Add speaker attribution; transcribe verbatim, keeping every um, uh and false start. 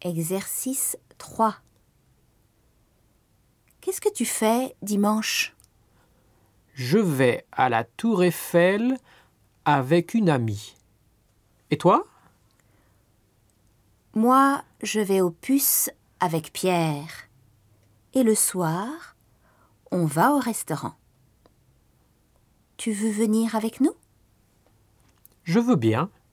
Speaker 1: Exercice trois. Qu'est-ce que tu fais dimanche?
Speaker 2: Je vais à la Tour Eiffel avec une amie. Et toi?
Speaker 1: Moi, je vais au Puce avec Pierre. Et le soir, on va au restaurant. Tu veux venir avec nous?
Speaker 2: Je veux bien.